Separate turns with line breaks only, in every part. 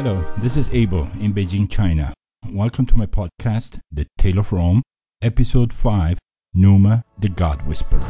Hello, this is Abel in Beijing, China. Welcome to my podcast, The Tale of Rome, Episode 5, Numa, the God Whisperer.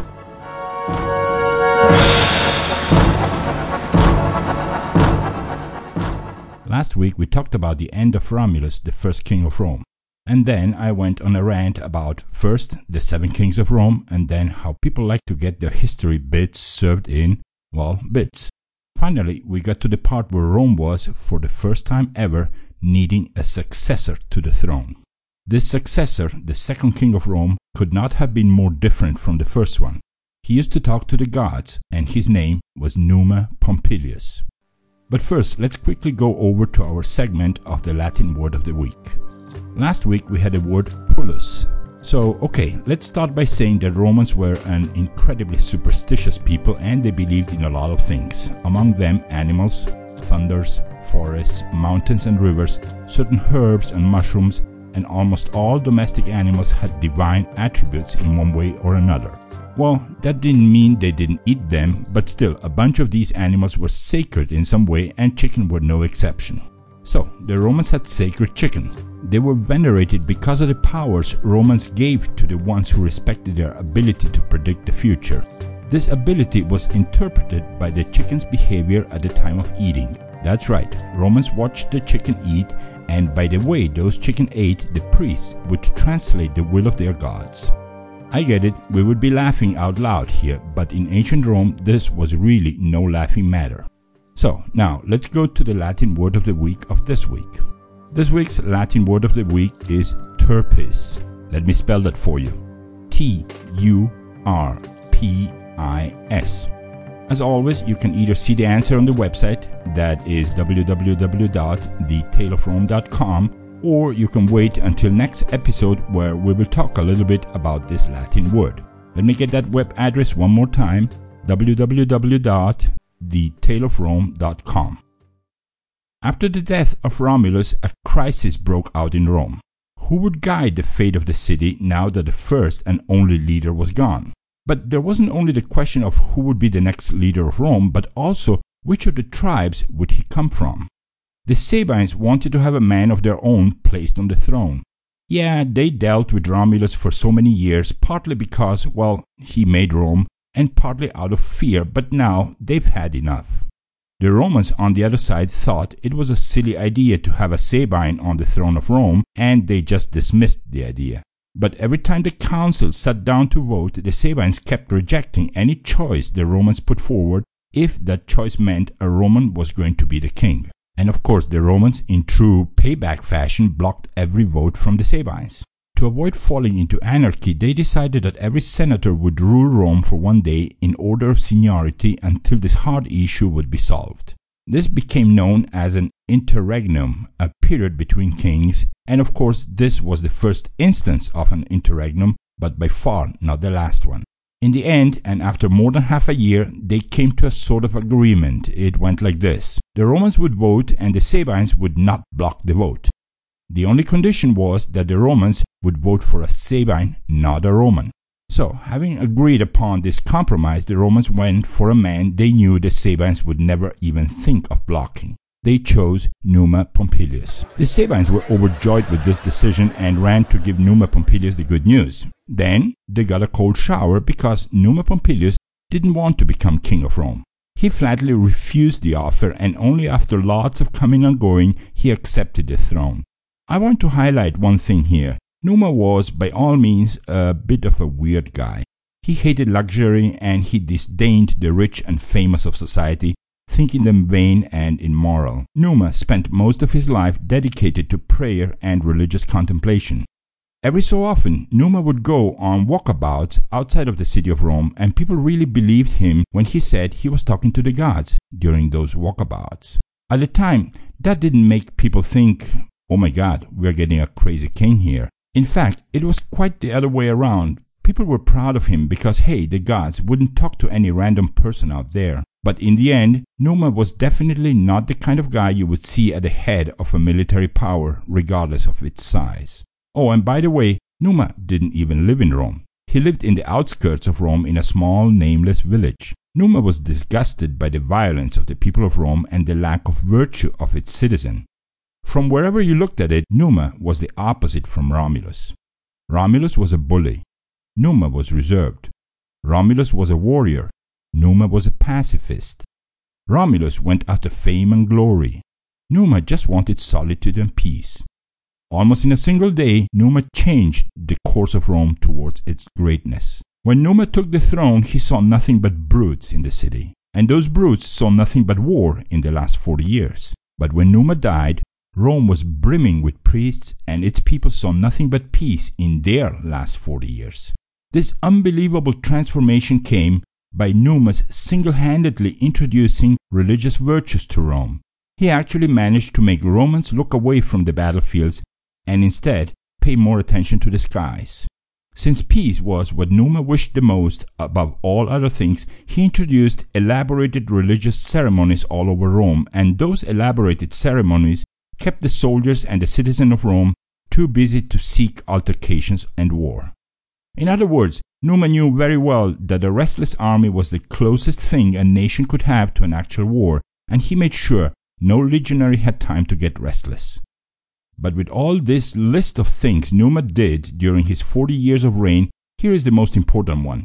Last week we talked about the end of Romulus, the first king of Rome. And then I went on a rant about first the 7 kings of Rome and then how people like to get their history bits served in, bits. Finally, we got to the part where Rome was, for the first time ever, needing a successor to the throne. This successor, the second king of Rome, could not have been more different from the first one. He used to talk to the gods, and his name was Numa Pompilius. But first, let's quickly go over to our segment of the Latin word of the week. Last week we had the word pullus. So, let's start by saying that Romans were an incredibly superstitious people and they believed in a lot of things. Among them, animals, thunders, forests, mountains and rivers, certain herbs and mushrooms, and almost all domestic animals had divine attributes in one way or another. Well, that didn't mean they didn't eat them, but still, a bunch of these animals were sacred in some way and chicken were no exception. So, the Romans had sacred chicken. They were venerated because of the powers Romans gave to the ones who respected their ability to predict the future. This ability was interpreted by the chicken's behavior at the time of eating. That's right, Romans watched the chicken eat, and by the way those chicken ate, the priests would translate the will of their gods. I get it, we would be laughing out loud here, but in ancient Rome this was really no laughing matter. So, now let's go to the Latin word of the week of this week. This week's Latin word of the week is turpis. Let me spell that for you. T-U-R-P-I-S. As always, you can either see the answer on the website, that is www.thetaleofrome.com, or you can wait until next episode where we will talk a little bit about this Latin word. Let me get that web address one more time, www.thetaleofrome.com. After the death of Romulus, a crisis broke out in Rome. Who would guide the fate of the city now that the first and only leader was gone? But there wasn't only the question of who would be the next leader of Rome, but also which of the tribes would he come from? The Sabines wanted to have a man of their own placed on the throne. Yeah, they dealt with Romulus for so many years, partly because, he made Rome, and partly out of fear, but now they've had enough. The Romans, on the other side, thought it was a silly idea to have a Sabine on the throne of Rome, and they just dismissed the idea. But every time the council sat down to vote, the Sabines kept rejecting any choice the Romans put forward if that choice meant a Roman was going to be the king. And of course, the Romans, in true payback fashion, blocked every vote from the Sabines. To avoid falling into anarchy, they decided that every senator would rule Rome for one day in order of seniority until this hard issue would be solved. This became known as an interregnum, a period between kings, and of course this was the first instance of an interregnum, but by far not the last one. In the end, and after more than half a year, they came to a sort of agreement. It went like this. The Romans would vote and the Sabines would not block the vote. The only condition was that the Romans would vote for a Sabine, not a Roman. So, having agreed upon this compromise, the Romans went for a man they knew the Sabines would never even think of blocking. They chose Numa Pompilius. The Sabines were overjoyed with this decision and ran to give Numa Pompilius the good news. Then, they got a cold shower because Numa Pompilius didn't want to become king of Rome. He flatly refused the offer, and only after lots of coming and going, he accepted the throne. I want to highlight one thing here. Numa was, by all means, a bit of a weird guy. He hated luxury and he disdained the rich and famous of society, thinking them vain and immoral. Numa spent most of his life dedicated to prayer and religious contemplation. Every so often, Numa would go on walkabouts outside of the city of Rome, and people really believed him when he said he was talking to the gods during those walkabouts. At the time, that didn't make people think, oh my God, we're getting a crazy king here. In fact, it was quite the other way around. People were proud of him because, hey, the gods wouldn't talk to any random person out there. But in the end, Numa was definitely not the kind of guy you would see at the head of a military power, regardless of its size. Oh, and by the way, Numa didn't even live in Rome. He lived in the outskirts of Rome in a small, nameless village. Numa was disgusted by the violence of the people of Rome and the lack of virtue of its citizens. From wherever you looked at it, Numa was the opposite from Romulus. Romulus was a bully. Numa was reserved. Romulus was a warrior. Numa was a pacifist. Romulus went after fame and glory. Numa just wanted solitude and peace. Almost in a single day, Numa changed the course of Rome towards its greatness. When Numa took the throne, he saw nothing but brutes in the city, and those brutes saw nothing but war in the last 40 years. But when Numa died, Rome was brimming with priests, and its people saw nothing but peace in their last 40 years. This unbelievable transformation came by Numa's single-handedly introducing religious virtues to Rome. He actually managed to make Romans look away from the battlefields and instead pay more attention to the skies. Since peace was what Numa wished the most above all other things, he introduced elaborated religious ceremonies all over Rome, and those elaborated ceremonies kept the soldiers and the citizens of Rome too busy to seek altercations and war. In other words, Numa knew very well that a restless army was the closest thing a nation could have to an actual war, and he made sure no legionary had time to get restless. But with all this list of things Numa did during his 40 years of reign, here is the most important one.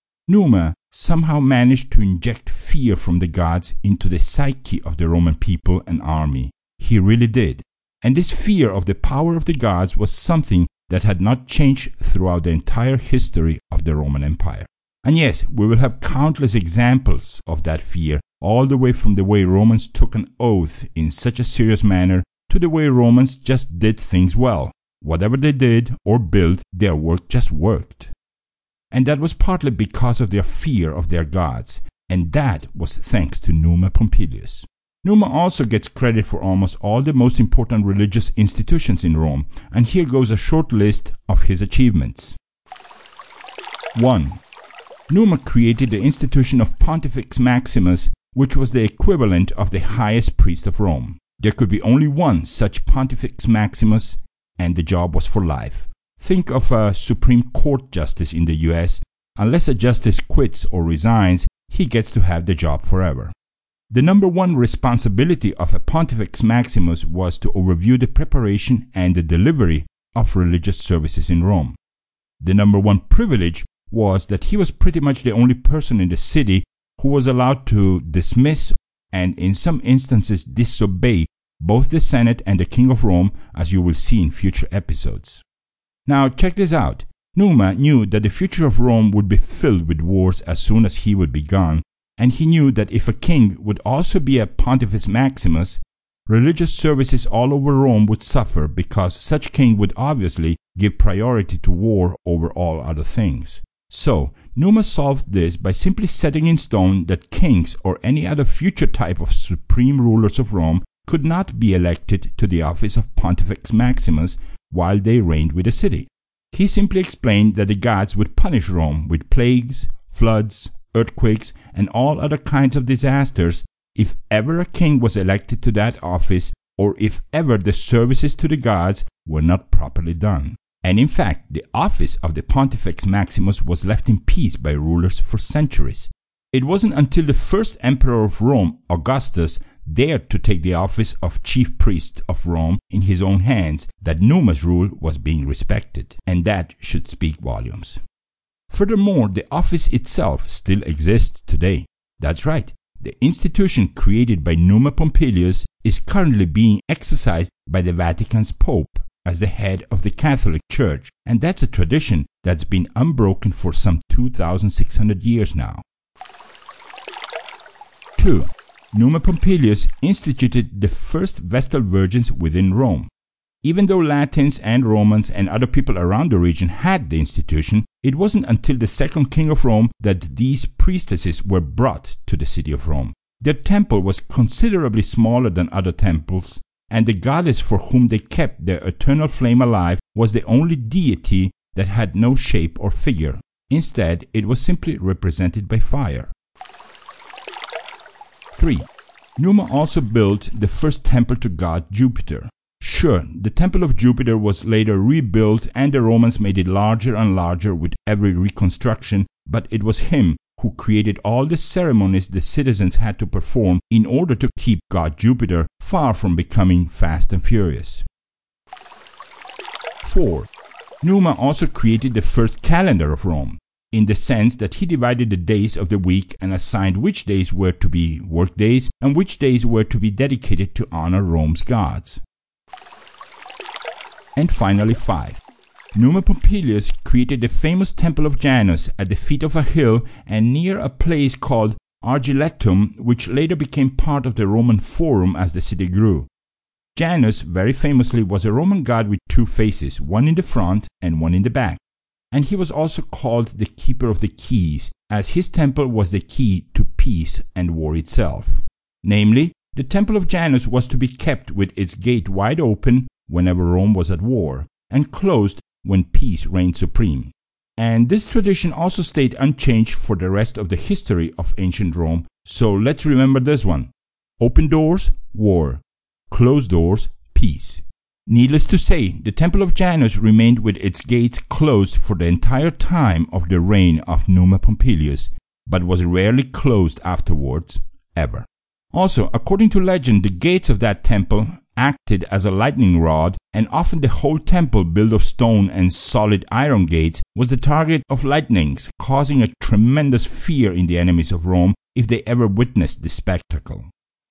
Numa somehow managed to inject fear from the gods into the psyche of the Roman people and army. He really did. And this fear of the power of the gods was something that had not changed throughout the entire history of the Roman Empire. And yes, we will have countless examples of that fear, all the way from the way Romans took an oath in such a serious manner to the way Romans just did things well. Whatever they did or built, their work just worked. And that was partly because of their fear of their gods, and that was thanks to Numa Pompilius. Numa also gets credit for almost all the most important religious institutions in Rome, and here goes a short list of his achievements. 1. Numa created the institution of Pontifex Maximus, which was the equivalent of the highest priest of Rome. There could be only one such Pontifex Maximus, and the job was for life. Think of a Supreme Court justice in the US. Unless a justice quits or resigns, he gets to have the job forever. The number one responsibility of a Pontifex Maximus was to overview the preparation and the delivery of religious services in Rome. The number one privilege was that he was pretty much the only person in the city who was allowed to dismiss and in some instances disobey both the Senate and the King of Rome, as you will see in future episodes. Now check this out. Numa knew that the future of Rome would be filled with wars as soon as he would be gone, and he knew that if a king would also be a Pontifex Maximus, religious services all over Rome would suffer because such king would obviously give priority to war over all other things. So, Numa solved this by simply setting in stone that kings or any other future type of supreme rulers of Rome could not be elected to the office of Pontifex Maximus while they reigned with the city. He simply explained that the gods would punish Rome with plagues, floods, earthquakes, and all other kinds of disasters if ever a king was elected to that office or if ever the services to the gods were not properly done. And in fact, the office of the Pontifex Maximus was left in peace by rulers for centuries. It wasn't until the first emperor of Rome, Augustus, dared to take the office of chief priest of Rome in his own hands that Numa's rule was being respected, and that should speak volumes. Furthermore, the office itself still exists today. That's right, the institution created by Numa Pompilius is currently being exercised by the Vatican's Pope as the head of the Catholic Church, and that's a tradition that's been unbroken for some 2,600 years now. 2. Numa Pompilius instituted the first Vestal Virgins within Rome. Even though Latins and Romans and other people around the region had the institution, it wasn't until the second king of Rome that these priestesses were brought to the city of Rome. Their temple was considerably smaller than other temples, and the goddess for whom they kept their eternal flame alive was the only deity that had no shape or figure. Instead, it was simply represented by fire. 3. Numa also built the first temple to god Jupiter. Sure, the temple of Jupiter was later rebuilt and the Romans made it larger and larger with every reconstruction, but it was him who created all the ceremonies the citizens had to perform in order to keep god Jupiter far from becoming fast and furious. 4. Numa also created the first calendar of Rome, in the sense that he divided the days of the week and assigned which days were to be work days and which days were to be dedicated to honor Rome's gods. And finally 5. Numa Pompilius created the famous Temple of Janus at the feet of a hill and near a place called Argiletum, which later became part of the Roman Forum as the city grew. Janus, very famously, was a Roman god with two faces, one in the front and one in the back. And he was also called the Keeper of the Keys, as his temple was the key to peace and war itself. Namely, the Temple of Janus was to be kept with its gate wide open whenever Rome was at war, and closed when peace reigned supreme. And this tradition also stayed unchanged for the rest of the history of ancient Rome, so let's remember this one. Open doors, war. Closed doors, peace. Needless to say, the Temple of Janus remained with its gates closed for the entire time of the reign of Numa Pompilius, but was rarely closed afterwards, ever. Also, according to legend, the gates of that temple acted as a lightning rod, and often the whole temple, built of stone and solid iron gates, was the target of lightnings, causing a tremendous fear in the enemies of Rome if they ever witnessed the spectacle.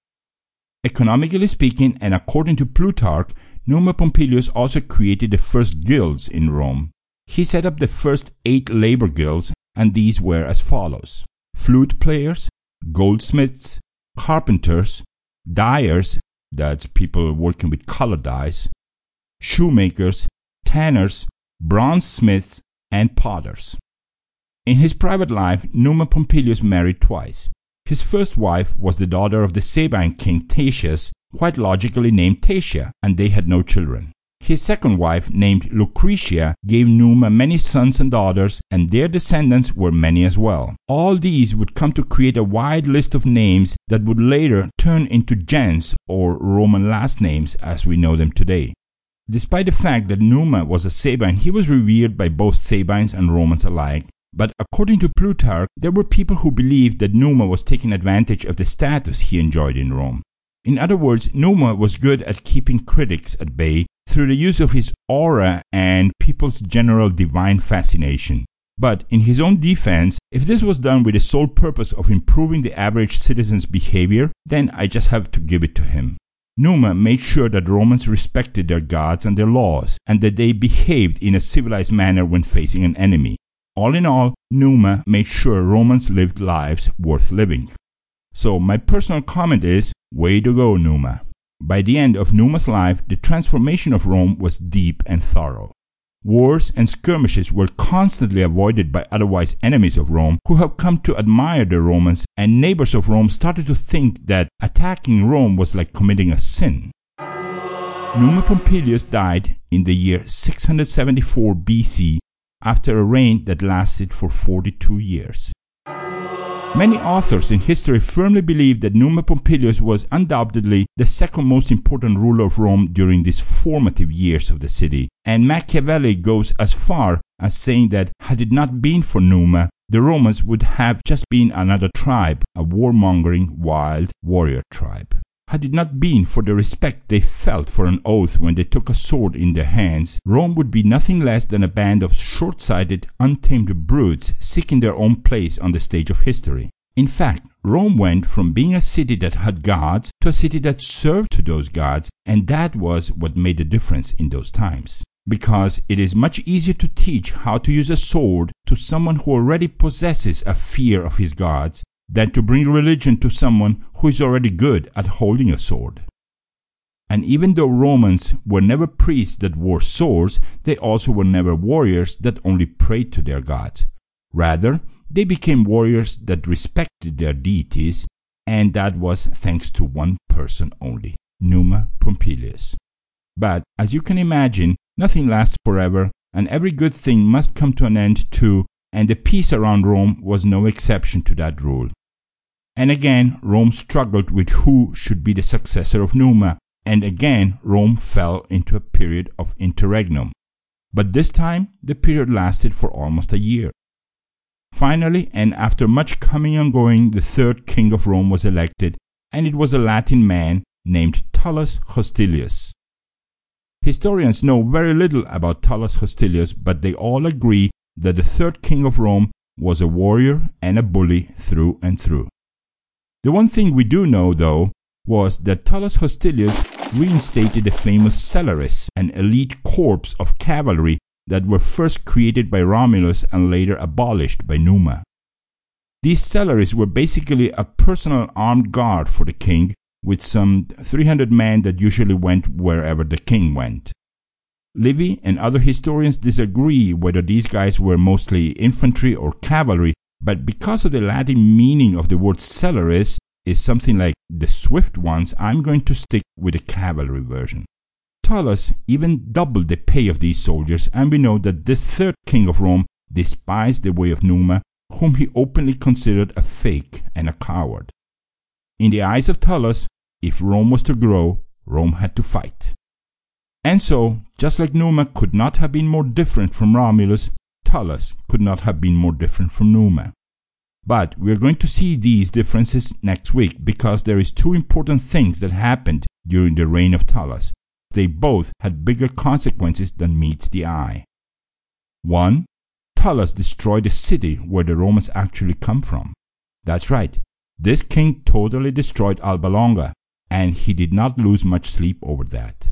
Economically speaking, and according to Plutarch, Numa Pompilius also created the first guilds in Rome. He set up the first 8 labor guilds, and these were as follows: flute players, goldsmiths, carpenters, dyers, that's people working with color dyes, shoemakers, tanners, bronze smiths, and potters. In his private life, Numa Pompilius married twice. His first wife was the daughter of the Sabine king Tatius, quite logically named Tatia, and they had no children. His second wife, named Lucretia, gave Numa many sons and daughters, and their descendants were many as well. All these would come to create a wide list of names that would later turn into gens, or Roman last names as we know them today. Despite the fact that Numa was a Sabine, he was revered by both Sabines and Romans alike. But according to Plutarch, there were people who believed that Numa was taking advantage of the status he enjoyed in Rome. In other words, Numa was good at keeping critics at bay through the use of his aura and people's general divine fascination. But in his own defense, if this was done with the sole purpose of improving the average citizen's behavior, then I just have to give it to him. Numa made sure that Romans respected their gods and their laws, and that they behaved in a civilized manner when facing an enemy. All in all, Numa made sure Romans lived lives worth living. So my personal comment is, way to go, Numa. By the end of Numa's life, the transformation of Rome was deep and thorough. Wars and skirmishes were constantly avoided by otherwise enemies of Rome who have come to admire the Romans, and neighbors of Rome started to think that attacking Rome was like committing a sin. Numa Pompilius died in the year 674 BC after a reign that lasted for 42 years. Many authors in history firmly believe that Numa Pompilius was undoubtedly the second most important ruler of Rome during these formative years of the city, and Machiavelli goes as far as saying that had it not been for Numa, the Romans would have just been another tribe, a warmongering, wild warrior tribe. Had it not been for the respect they felt for an oath when they took a sword in their hands, Rome would be nothing less than a band of short-sighted, untamed brutes seeking their own place on the stage of history. In fact, Rome went from being a city that had gods to a city that served to those gods, and that was what made the difference in those times. Because it is much easier to teach how to use a sword to someone who already possesses a fear of his gods than to bring religion to someone who is already good at holding a sword. And even though Romans were never priests that wore swords, they also were never warriors that only prayed to their gods. Rather, they became warriors that respected their deities, and that was thanks to one person only, Numa Pompilius. But, as you can imagine, nothing lasts forever, and every good thing must come to an end too, and the peace around Rome was no exception to that rule. And again, Rome struggled with who should be the successor of Numa, and again, Rome fell into a period of interregnum. But this time, the period lasted for almost a year. Finally, and after much coming and going, the third king of Rome was elected, and it was a Latin man named Tullus Hostilius. Historians know very little about Tullus Hostilius, but they all agree that the third king of Rome was a warrior and a bully through and through. The one thing we do know, though, was that Tullus Hostilius reinstated the famous Celeres, an elite corps of cavalry that were first created by Romulus and later abolished by Numa. These Celeres were basically a personal armed guard for the king, with some 300 men that usually went wherever the king went. Livy and other historians disagree whether these guys were mostly infantry or cavalry, but because of the Latin meaning of the word Celeres is something like the swift ones, I'm going to stick with the cavalry version. Tullus even doubled the pay of these soldiers, and we know that this third king of Rome despised the way of Numa, whom he openly considered a fake and a coward. In the eyes of Tullus, if Rome was to grow, Rome had to fight. And so, just like Numa could not have been more different from Romulus, Tullus could not have been more different from Numa. But we are going to see these differences next week, because there is two important things that happened during the reign of Tullus. They both had bigger consequences than meets the eye. 1. Tullus destroyed the city where the Romans actually come from. That's right, this king totally destroyed Alba Longa, and he did not lose much sleep over that.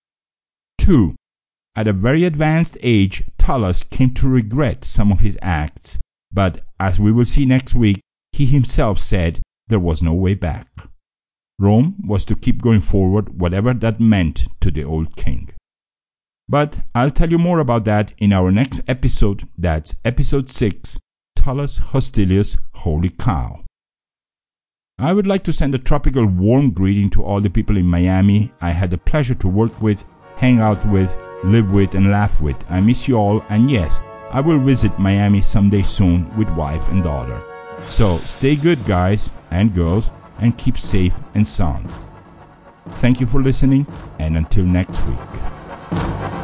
2. At a very advanced age, Tullus came to regret some of his acts, but as we will see next week, he himself said there was no way back. Rome was to keep going forward, whatever that meant to the old king. But I'll tell you more about that in our next episode. That's episode 6, Tullus Hostilius, Holy Cow. I would like to send a tropical warm greeting to all the people in Miami I had the pleasure to work with, hang out with, live with, and laugh with. I miss you all, and yes, I will visit Miami someday soon with wife and daughter. So stay good, guys and girls, and keep safe and sound. Thank you for listening, and until next week.